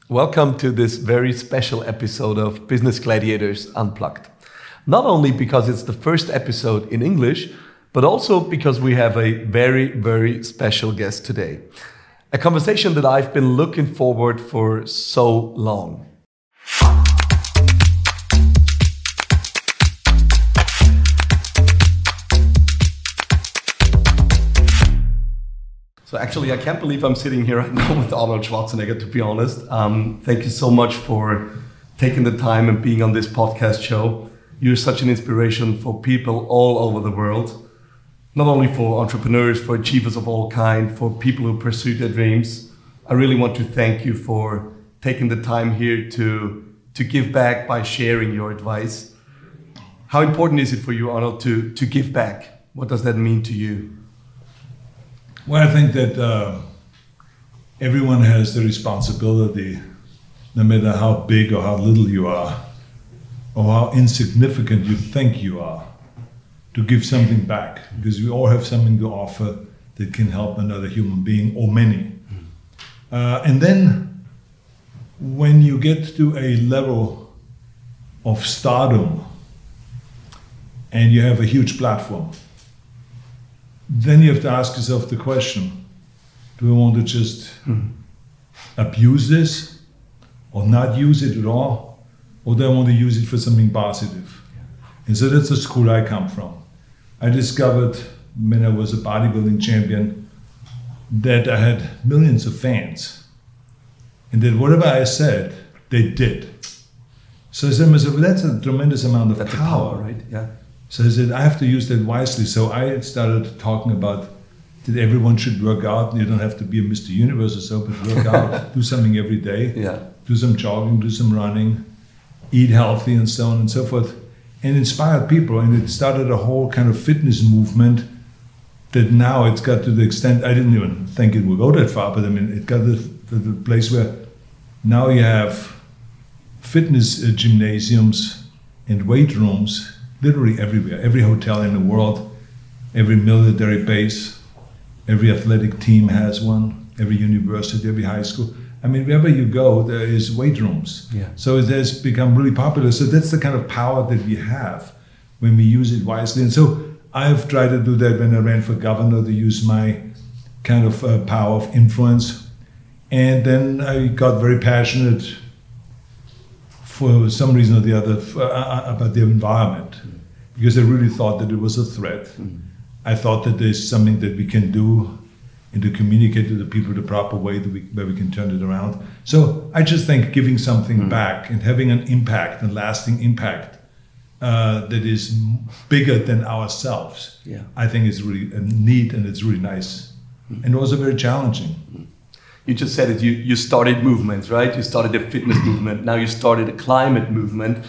Welcome to this very special episode of Business Gladiators Unplugged. Not only because it's the first episode in English, but also because we have a very, very special guest today. A conversation that I've been looking forward for so long. So actually, I can't believe I'm sitting here right now with Arnold Schwarzenegger, to be honest. Thank you so much for taking the time and being on this podcast show. You're such an inspiration for people all over the world, not only for entrepreneurs, for achievers of all kinds, for people who pursue their dreams. I really want to thank you for taking the time here to give back by sharing your advice. How important is it for you, Arnold, to give back? What does that mean to you? Well, I think that everyone has the responsibility, no matter how big or how little you are, or how insignificant you think you are, to give something back, because we all have something to offer that can help another human being, or many. And then, when you get to a level of stardom, and you have a huge platform, then you have to ask yourself the question, do I want to just abuse this or not use it at all? Or do I want to use it for something positive? And so that's the school I come from. I discovered when I was a bodybuilding champion that I had millions of fans. And that whatever I said, they did. So I said to myself, that's a tremendous amount of power, right? Yeah. So I said, I have to use that wisely. So I started talking about that everyone should work out. You don't have to be a Mr. Universe or so, but work out, do something every day, do some jogging, do some running, eat healthy and so on and so forth, and inspired people. And it started a whole kind of fitness movement that now it's got to the extent, I didn't even think it would go that far, but I mean, it got to the place where now you have fitness gymnasiums and weight rooms literally everywhere, every hotel in the world, every military base, every athletic team has one, every university, every high school. I mean, wherever you go, there is weight rooms. Yeah. So it has become really popular. So that's the kind of power that we have when we use it wisely. And so I've tried to do that when I ran for governor, to use my kind of power of influence. And then I got very passionate for some reason or the other about the environment, because I really thought that it was a threat. I thought that there's something that we can do and to communicate to the people the proper way where we can turn it around. So I just think giving something back and having an impact, a lasting impact that is bigger than ourselves, I think is really neat, and it's really nice and also very challenging. You just said it, you started movements, right? You started a fitness movement, now you started a climate movement.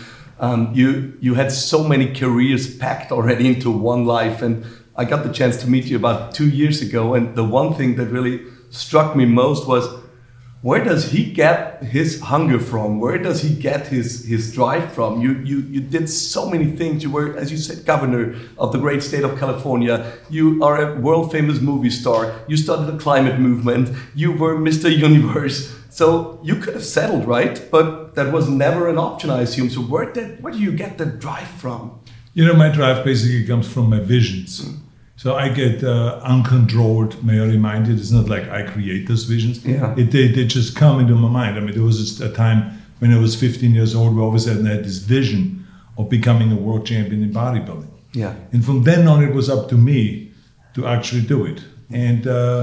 You had so many careers packed already into one life, and I got the chance to meet you about 2 years ago, and the one thing that really struck me most was, where does he get his hunger from? Where does he get his drive from? You did so many things. You were, as you said, governor of the great state of California. You are a world famous movie star. You started a climate movement. You were Mr. Universe. So you could have settled, right? But that was never an option, I assume. So where do you get the drive from? You know, my drive basically comes from my visions. So I get uncontrolled, may I remind you, it's not like I create those visions. They just come into my mind. I mean, there was just a time when I was 15 years old where all of a sudden I had this vision of becoming a world champion in bodybuilding. And from then on, it was up to me to actually do it. And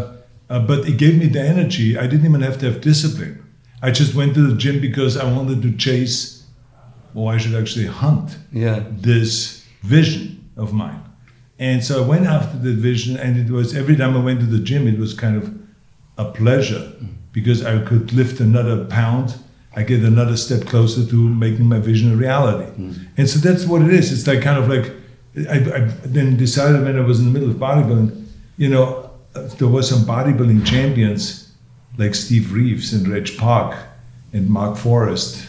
but it gave me the energy. I didn't even have to have discipline. I just went to the gym because I wanted to chase, or I should actually hunt, this vision of mine. And so I went after the vision, and it was, every time I went to the gym, it was kind of a pleasure, because I could lift another pound, I get another step closer to making my vision a reality. And so that's what it is. It's like kind of like, I then decided when I was in the middle of bodybuilding, you know, there were some bodybuilding champions like Steve Reeves and Reg Park and Mark Forrest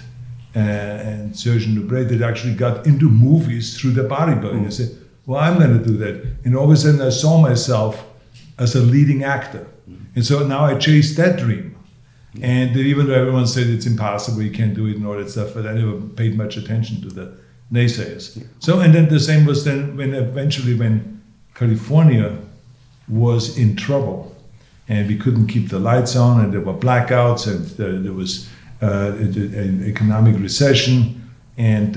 and Sergeant Dubray that actually got into movies through their bodybuilding. I said, well, I'm going to do that. And all of a sudden I saw myself as a leading actor. And so now I chase that dream. And even though everyone said it's impossible, you can't do it and all that stuff, but I never paid much attention to the naysayers. Yeah. So, and then the same was then when California was in trouble and we couldn't keep the lights on and there were blackouts and there was an economic recession and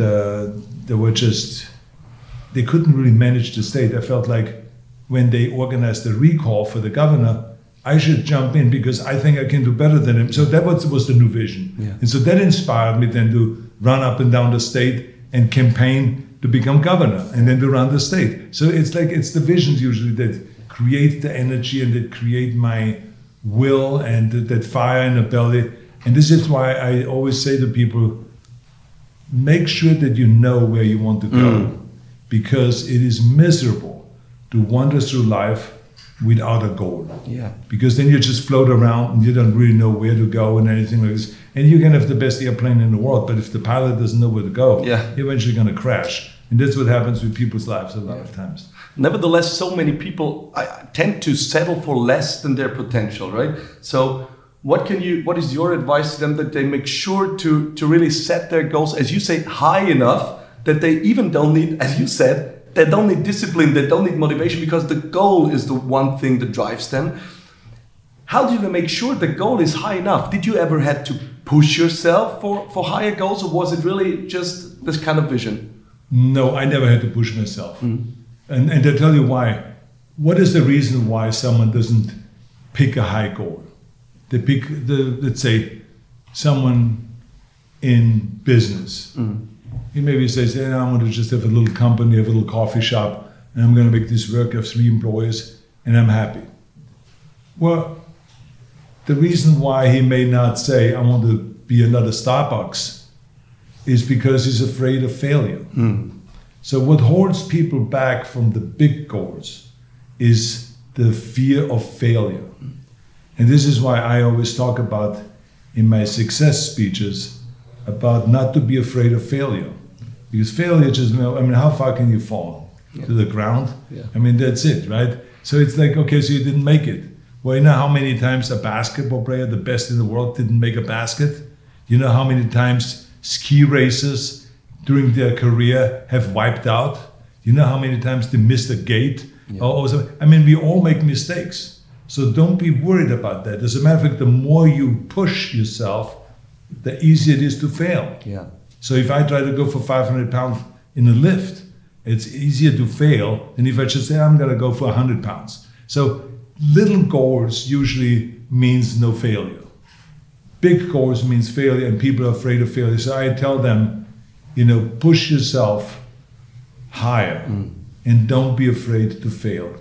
they couldn't really manage the state. I felt like when they organized the recall for the governor, I should jump in because I think I can do better than him. So that was the new vision. Yeah. And so that inspired me then to run up and down the state and campaign to become governor and then to run the state. So it's the visions usually that create the energy and that create my will and that fire in the belly. And this is why I always say to people, make sure that you know where you want to go because it is miserable to wander through life without a goal. Yeah. Because then you just float around and you don't really know where to go and anything like this. And you can have the best airplane in the world, but if the pilot doesn't know where to go, you're eventually going to crash. And that's what happens with people's lives a lot of times. Nevertheless, so many people tend to settle for less than their potential, right? So what is your advice to them that they make sure to really set their goals, as you say, high enough that they even don't need, as you said, they don't need discipline, they don't need motivation because the goal is the one thing that drives them. How do they make sure the goal is high enough? Did you ever had to push yourself for higher goals or was it really just this kind of vision? No, I never had to push myself. And to tell you why, what is the reason why someone doesn't pick a high goal? They pick, let's say, someone in business. He maybe says, I want to just have a little company, have a little coffee shop, and I'm going to make this work. I have 3 employees, and I'm happy. Well, the reason why he may not say, I want to be another Starbucks, is because he's afraid of failure. So what holds people back from the big goals is the fear of failure. And this is why I always talk about, in my success speeches, about not to be afraid of failure. Because failure just, how far can you fall? To the ground? Yeah. That's it, right? So it's like, okay, so you didn't make it. Well, you know how many times a basketball player, the best in the world, didn't make a basket? You know how many times ski racers during their career have wiped out? You know how many times they missed a gate? We all make mistakes. So don't be worried about that. As a matter of fact, the more you push yourself, the easier it is to fail. Yeah. So if I try to go for 500 pounds in a lift, it's easier to fail than if I just say, I'm going to go for 100 pounds. So little goals usually means no failure. Big goals means failure, and people are afraid of failure. So I tell them, push yourself higher and don't be afraid to fail.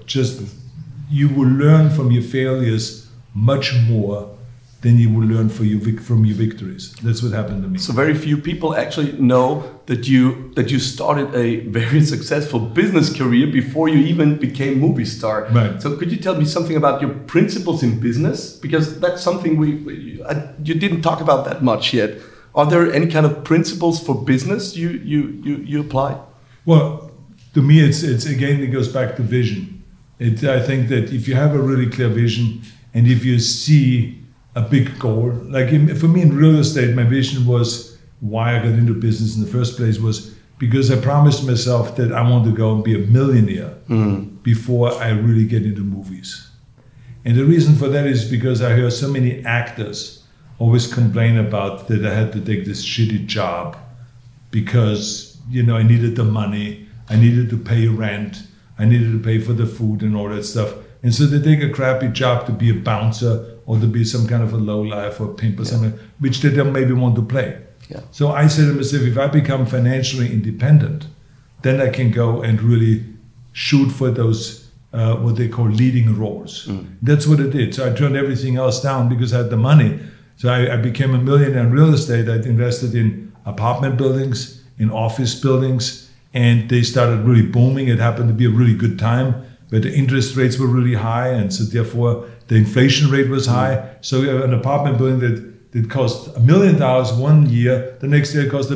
You will learn from your failures much more than you will learn from your victories. That's what happened to me. So very few people actually know that you started a very successful business career before you even became movie star. Right. So could you tell me something about your principles in business? Because that's something you didn't talk about that much yet. Are there any kind of principles for business you apply? Well, to me, it's again, it goes back to vision. I think that if you have a really clear vision and if you see a big goal, for me in real estate, my vision was why I got into business in the first place was because I promised myself that I want to go and be a millionaire before I really get into movies. And the reason for that is because I hear so many actors always complain about that I had to take this shitty job because, I needed the money, I needed to pay rent, I needed to pay for the food and all that stuff. And so they take a crappy job to be a bouncer or to be some kind of a lowlife or a pimp or something, which they don't maybe want to play. Yeah. So I said to myself, if I become financially independent, then I can go and really shoot for those, what they call leading roles. That's what I did. So I turned everything else down because I had the money. So I became a millionaire in real estate. I invested in apartment buildings, in office buildings, and they started really booming. It happened to be a really good time where the interest rates were really high, and so therefore the inflation rate was high. So an apartment building that cost $1 million 1 year, the next year it cost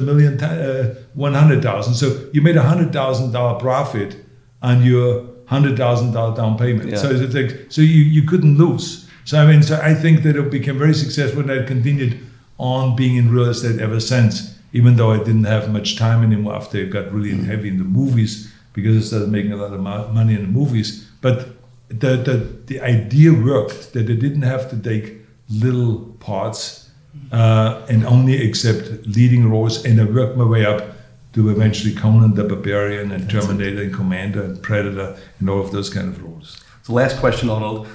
$100,000. So you made $100,000 profit on your $100,000 down payment. Yeah. So it's like, so you couldn't lose. So I think that it became very successful, and I continued on being in real estate ever since, even though I didn't have much time anymore after I got really heavy in the movies, because I started making a lot of money in the movies. But the idea worked, that I didn't have to take little parts and only accept leading roles, and I worked my way up to eventually Conan the Barbarian and Terminator and Commander and Predator and all of those kind of roles. So last question, Arnold.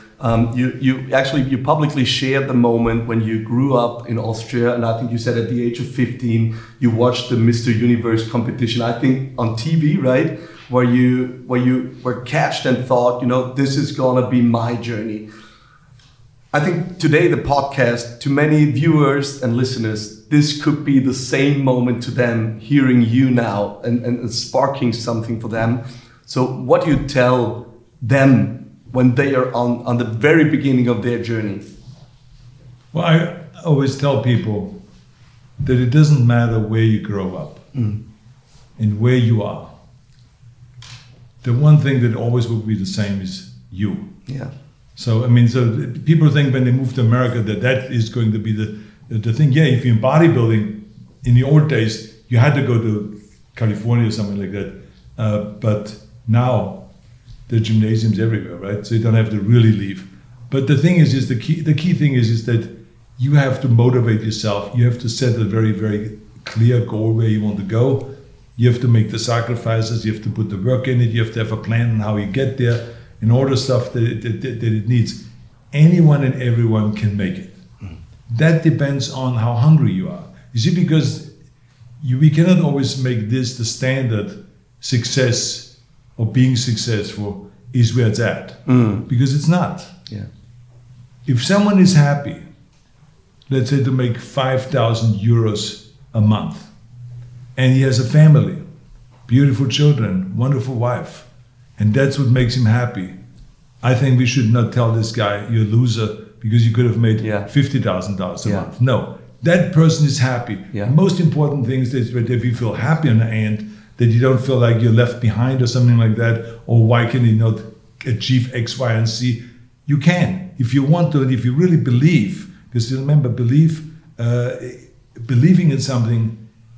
You publicly shared the moment when you grew up in Austria, and I think you said at the age of 15 you watched the Mr. Universe competition, I think on TV, right? Where you were catched and thought, this is gonna be my journey. I think today the podcast, to many viewers and listeners, this could be the same moment to them, hearing you now and sparking something for them. So what do you tell them when they are on the very beginning of their journey? Well, I always tell people that it doesn't matter where you grow up and where you are. The one thing that always will be the same is you. Yeah. So people think when they move to America that is going to be the thing. Yeah, if you're in bodybuilding, in the old days, you had to go to California or something like that. But now, there are gymnasiums everywhere, right? So you don't have to really leave. But the thing is the key thing is that you have to motivate yourself. You have to set a very, very clear goal where you want to go. You have to make the sacrifices. You have to put the work in it. You have to have a plan on how you get there and all the stuff that it needs. Anyone and everyone can make it. That depends on how hungry you are. You see, because we cannot always make this the standard success or being successful is where it's at. Because it's not. Yeah. If someone is happy, let's say to make 5,000 euros a month, and he has a family, beautiful children, wonderful wife, and that's what makes him happy, I think we should not tell this guy, you're a loser, because you could have made $50,000 a month. No, that person is happy. Yeah. The most important thing is that if you feel happy on the end, that you don't feel like you're left behind or something like that, or why can you not achieve X, Y, and Z? You can, if you want to, and if you really believe, because remember, believing in something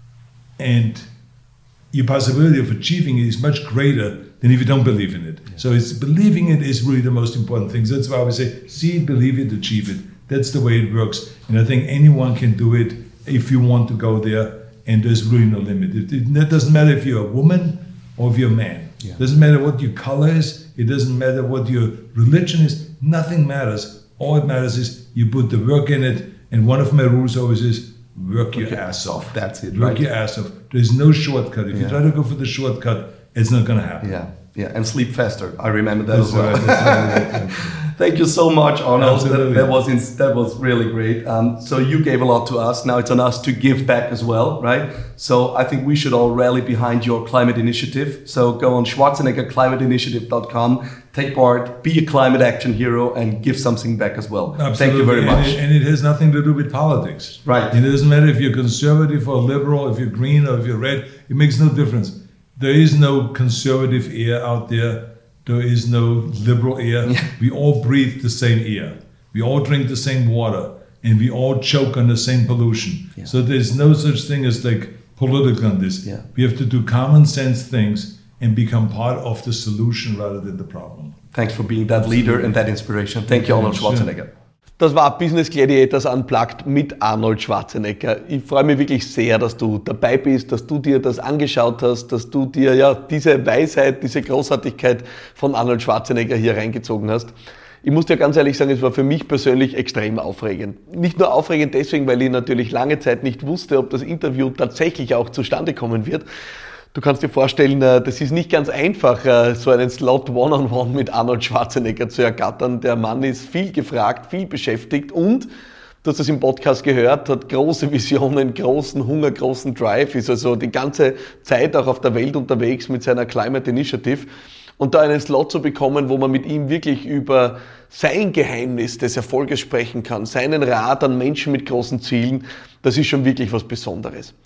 and your possibility of achieving it is much greater than if you don't believe in it. Yeah. So it's believing it is really the most important thing. So that's why I always say, see it, believe it, achieve it. That's the way it works. And I think anyone can do it if you want to go there. And there's really no limit. It doesn't matter if you're a woman or if you're a man. Yeah. It doesn't matter what your color is. It doesn't matter what your religion is. Nothing matters. All it matters is you put the work in it. And one of my rules always is work your ass off. That's it. Work your ass off. There's no shortcut. If you try to go for the shortcut, it's not going to happen. Yeah. And sleep faster. I remember that as well. Right. Thank you so much, Arnold. That was really great. So you gave a lot to us. Now it's on us to give back as well, right? So I think we should all rally behind your climate initiative. So go on schwarzeneggerclimateinitiative.com, take part, be a climate action hero, and give something back as well. Absolutely. Thank you very much. And it has nothing to do with politics. Right. And it doesn't matter if you're conservative or liberal, if you're green or if you're red. It makes no difference. There is no conservative air out there. There is no liberal air. Yeah. We all breathe the same air. We all drink the same water. And we all choke on the same pollution. Yeah. So there's no such thing as like political on this. Yeah. We have to do common sense things and become part of the solution rather than the problem. Thanks for being that leader and that inspiration. Thank you, Arnold Schwarzenegger. Das war Business Gladiators Unplugged mit Arnold Schwarzenegger. Ich freue mich wirklich sehr, dass du dabei bist, dass du dir das angeschaut hast, dass du dir diese Weisheit, diese Großartigkeit von Arnold Schwarzenegger hier reingezogen hast. Ich muss dir ganz ehrlich sagen, es war für mich persönlich extrem aufregend. Nicht nur aufregend deswegen, weil ich natürlich lange Zeit nicht wusste, ob das Interview tatsächlich auch zustande kommen wird. Du kannst dir vorstellen, das ist nicht ganz einfach, so einen Slot One-on-One mit Arnold Schwarzenegger zu ergattern. Der Mann ist viel gefragt, viel beschäftigt und, du hast es im Podcast gehört, hat große Visionen, großen Hunger, großen Drive, ist also die ganze Zeit auch auf der Welt unterwegs mit seiner Climate Initiative. Und da einen Slot zu bekommen, wo man mit ihm wirklich über sein Geheimnis des Erfolges sprechen kann, seinen Rat an Menschen mit großen Zielen, das ist schon wirklich was Besonderes.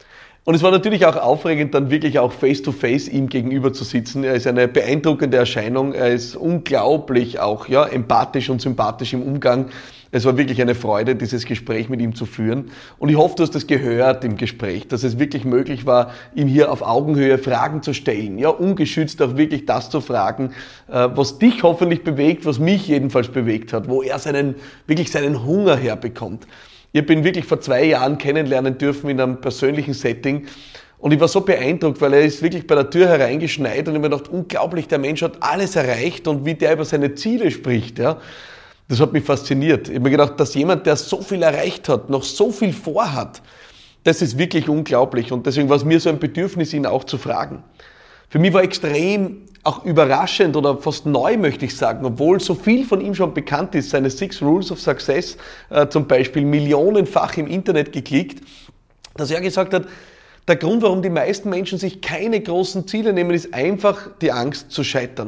Und es war natürlich auch aufregend, dann wirklich auch face-to-face ihm gegenüber zu sitzen. Er ist eine beeindruckende Erscheinung. Er ist unglaublich auch empathisch und sympathisch im Umgang. Es war wirklich eine Freude, dieses Gespräch mit ihm zu führen. Und ich hoffe, du hast das gehört im Gespräch, dass es wirklich möglich war, ihm hier auf Augenhöhe Fragen zu stellen. Ja, ungeschützt auch wirklich das zu fragen, was dich hoffentlich bewegt, was mich jedenfalls bewegt hat, wo er seinen Hunger herbekommt. Ich habe ihn wirklich vor 2 Jahren kennenlernen dürfen in einem persönlichen Setting. Und ich war so beeindruckt, weil er ist wirklich bei der Tür hereingeschneit und ich habe mir gedacht, unglaublich, der Mensch hat alles erreicht und wie der über seine Ziele spricht, ja. Das hat mich fasziniert. Ich habe mir gedacht, dass jemand, der so viel erreicht hat, noch so viel vorhat, das ist wirklich unglaublich. Und deswegen war es mir so ein Bedürfnis, ihn auch zu fragen. Für mich war extrem auch überraschend oder fast neu, möchte ich sagen, obwohl so viel von ihm schon bekannt ist, seine 6 Rules of Success, zum Beispiel millionenfach im Internet geklickt, dass er gesagt hat, der Grund, warum die meisten Menschen sich keine großen Ziele nehmen, ist einfach die Angst zu scheitern.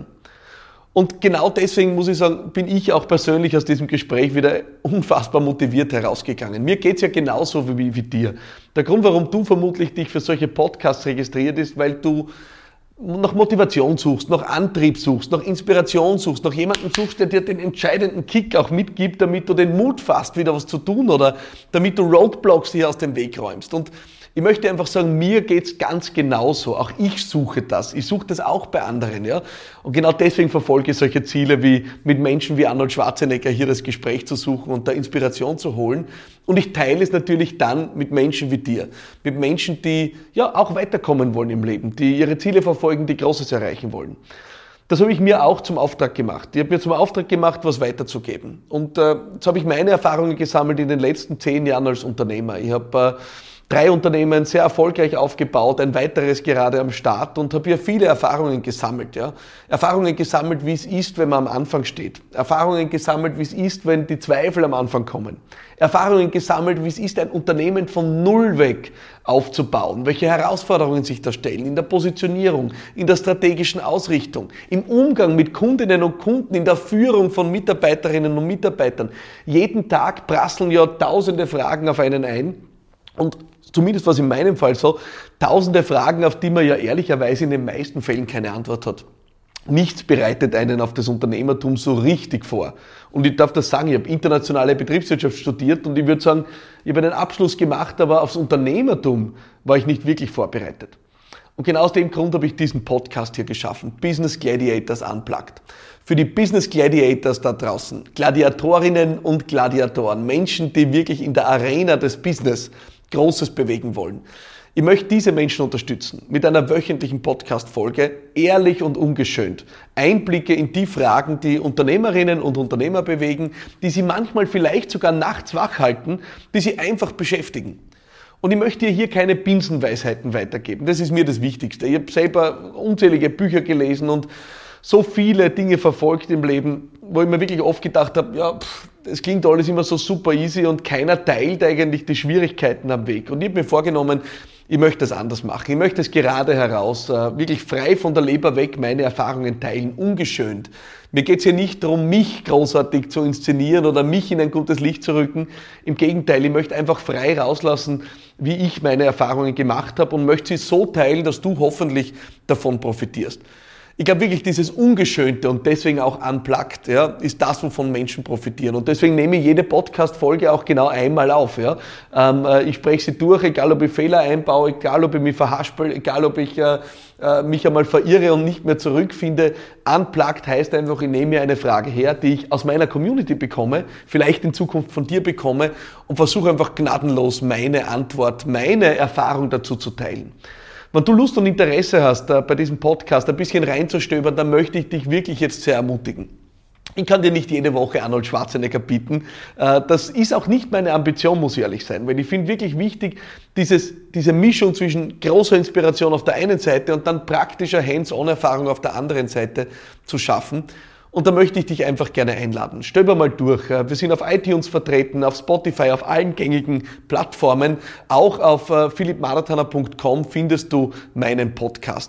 Und genau deswegen, muss ich sagen, bin ich auch persönlich aus diesem Gespräch wieder unfassbar motiviert herausgegangen. Mir geht's ja genauso wie dir. Der Grund, warum du vermutlich dich für solche Podcasts registriert ist, weil du nach Motivation suchst, nach Antrieb suchst, nach Inspiration suchst, nach jemandem suchst, der dir den entscheidenden Kick auch mitgibt, damit du den Mut fasst, wieder was zu tun oder damit du Roadblocks hier aus dem Weg räumst. Und ich möchte einfach sagen, mir geht's ganz genauso. Auch ich suche das. Ich suche das auch bei anderen, ja. Und genau deswegen verfolge ich solche Ziele wie mit Menschen wie Arnold Schwarzenegger hier das Gespräch zu suchen und da Inspiration zu holen. Und ich teile es natürlich dann mit Menschen wie dir. Mit Menschen, die ja auch weiterkommen wollen im Leben, die ihre Ziele verfolgen, die Großes erreichen wollen. Das habe ich mir auch zum Auftrag gemacht. Ich habe mir zum Auftrag gemacht, was weiterzugeben. Und jetzt habe ich meine Erfahrungen gesammelt in den letzten 10 Jahren als Unternehmer. Ich habe 3 Unternehmen sehr erfolgreich aufgebaut, ein weiteres gerade am Start und habe hier viele Erfahrungen gesammelt. Ja. Erfahrungen gesammelt, wie es ist, wenn man am Anfang steht. Erfahrungen gesammelt, wie es ist, wenn die Zweifel am Anfang kommen. Erfahrungen gesammelt, wie es ist, ein Unternehmen von Null weg aufzubauen, welche Herausforderungen sich da stellen in der Positionierung, in der strategischen Ausrichtung, im Umgang mit Kundinnen und Kunden, in der Führung von Mitarbeiterinnen und Mitarbeitern. Jeden Tag prasseln ja tausende Fragen auf einen ein. Und zumindest war es in meinem Fall so, tausende Fragen, auf die man ja ehrlicherweise in den meisten Fällen keine Antwort hat. Nichts bereitet einen auf das Unternehmertum so richtig vor. Und ich darf das sagen, ich habe internationale Betriebswirtschaft studiert und ich würde sagen, ich habe einen Abschluss gemacht, aber aufs Unternehmertum war ich nicht wirklich vorbereitet. Und genau aus dem Grund habe ich diesen Podcast hier geschaffen, Business Gladiators Unplugged. Für die Business Gladiators da draußen, Gladiatorinnen und Gladiatoren, Menschen, die wirklich in der Arena des Business Großes bewegen wollen. Ich möchte diese Menschen unterstützen mit einer wöchentlichen Podcast-Folge, ehrlich und ungeschönt. Einblicke in die Fragen, die Unternehmerinnen und Unternehmer bewegen, die sie manchmal vielleicht sogar nachts wach halten, die sie einfach beschäftigen. Und ich möchte dir hier keine Binsenweisheiten weitergeben. Das ist mir das Wichtigste. Ich habe selber unzählige Bücher gelesen und so viele Dinge verfolgt im Leben, wo ich mir wirklich oft gedacht habe, ja, es klingt alles immer so super easy und keiner teilt eigentlich die Schwierigkeiten am Weg. Und ich habe mir vorgenommen, ich möchte das anders machen. Ich möchte es gerade heraus, wirklich frei von der Leber weg, meine Erfahrungen teilen, ungeschönt. Mir geht es hier nicht darum, mich großartig zu inszenieren oder mich in ein gutes Licht zu rücken. Im Gegenteil, ich möchte einfach frei rauslassen, wie ich meine Erfahrungen gemacht habe und möchte sie so teilen, dass du hoffentlich davon profitierst. Ich glaube wirklich, dieses Ungeschönte und deswegen auch unplugged, ja, ist das, wovon Menschen profitieren. Und deswegen nehme ich jede Podcast-Folge auch genau einmal auf. Ja. Ich spreche sie durch, egal ob ich Fehler einbaue, egal ob ich mich verhaspel, egal ob ich mich einmal verirre und nicht mehr zurückfinde. Unplugged heißt einfach, ich nehme mir eine Frage her, die ich aus meiner Community bekomme, vielleicht in Zukunft von dir bekomme und versuche einfach gnadenlos meine Antwort, meine Erfahrung dazu zu teilen. Wenn du Lust und Interesse hast, bei diesem Podcast ein bisschen reinzustöbern, dann möchte ich dich wirklich jetzt sehr ermutigen. Ich kann dir nicht jede Woche Arnold Schwarzenegger bieten. Das ist auch nicht meine Ambition, muss ich ehrlich sein, weil ich finde wirklich wichtig, diese Mischung zwischen großer Inspiration auf der einen Seite und dann praktischer Hands-on-Erfahrung auf der anderen Seite zu schaffen. Und da möchte ich dich einfach gerne einladen. Stöber mal durch. Wir sind auf iTunes vertreten, auf Spotify, auf allen gängigen Plattformen. Auch auf philippmarathoner.com findest du meinen Podcast.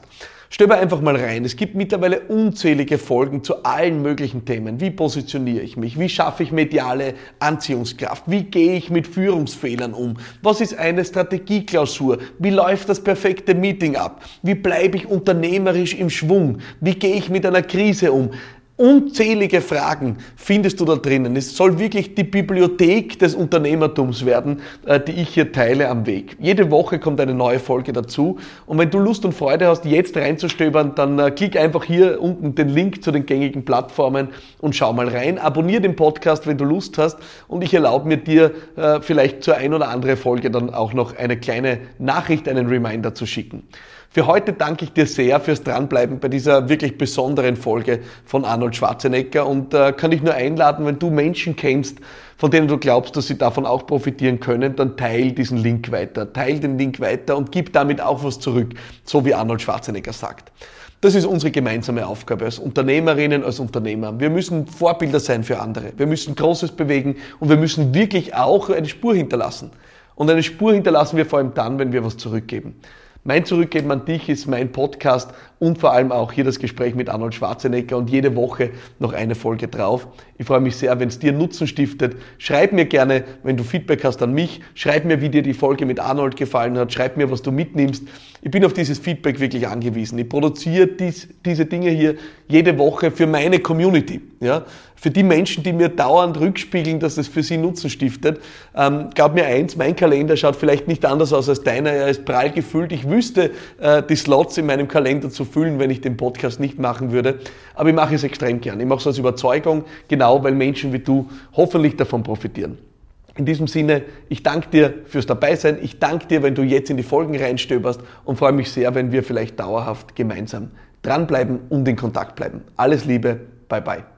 Stöber einfach mal rein. Es gibt mittlerweile unzählige Folgen zu allen möglichen Themen. Wie positioniere ich mich? Wie schaffe ich mediale Anziehungskraft? Wie gehe ich mit Führungsfehlern um? Was ist eine Strategieklausur? Wie läuft das perfekte Meeting ab? Wie bleibe ich unternehmerisch im Schwung? Wie gehe ich mit einer Krise um? Unzählige Fragen findest du da drinnen. Es soll wirklich die Bibliothek des Unternehmertums werden, die ich hier teile am Weg. Jede Woche kommt eine neue Folge dazu. Und wenn du Lust und Freude hast, jetzt reinzustöbern, dann klick einfach hier unten den Link zu den gängigen Plattformen und schau mal rein. Abonnier den Podcast, wenn du Lust hast. Und ich erlaube mir dir vielleicht zur ein oder andere Folge dann auch noch eine kleine Nachricht, einen Reminder zu schicken. Für heute danke ich dir sehr fürs Dranbleiben bei dieser wirklich besonderen Folge von Arnold Schwarzenegger und kann dich nur einladen, wenn du Menschen kennst, von denen du glaubst, dass sie davon auch profitieren können, dann teil diesen Link weiter. Teil den Link weiter und gib damit auch was zurück, so wie Arnold Schwarzenegger sagt. Das ist unsere gemeinsame Aufgabe als Unternehmerinnen, als Unternehmer. Wir müssen Vorbilder sein für andere. Wir müssen Großes bewegen und wir müssen wirklich auch eine Spur hinterlassen. Und eine Spur hinterlassen wir vor allem dann, wenn wir was zurückgeben. Mein Zurückgeben an dich ist mein Podcast und vor allem auch hier das Gespräch mit Arnold Schwarzenegger und jede Woche noch eine Folge drauf. Ich freue mich sehr, wenn es dir Nutzen stiftet. Schreib mir gerne, wenn du Feedback hast, an mich. Schreib mir, wie dir die Folge mit Arnold gefallen hat. Schreib mir, was du mitnimmst. Ich bin auf dieses Feedback wirklich angewiesen. Ich produziere diese Dinge hier jede Woche für meine Community. Ja? Für die Menschen, die mir dauernd rückspiegeln, dass es für sie Nutzen stiftet. Glaub mir eins, mein Kalender schaut vielleicht nicht anders aus als deiner. Er ist prall gefüllt. Ich wüsste, die Slots in meinem Kalender zu füllen, wenn ich den Podcast nicht machen würde. Aber ich mache es extrem gern. Ich mache es aus Überzeugung, genau weil Menschen wie du hoffentlich davon profitieren. In diesem Sinne, ich danke dir fürs Dabeisein. Ich danke dir, wenn du jetzt in die Folgen reinstöberst und freue mich sehr, wenn wir vielleicht dauerhaft gemeinsam dranbleiben und in Kontakt bleiben. Alles Liebe, bye bye.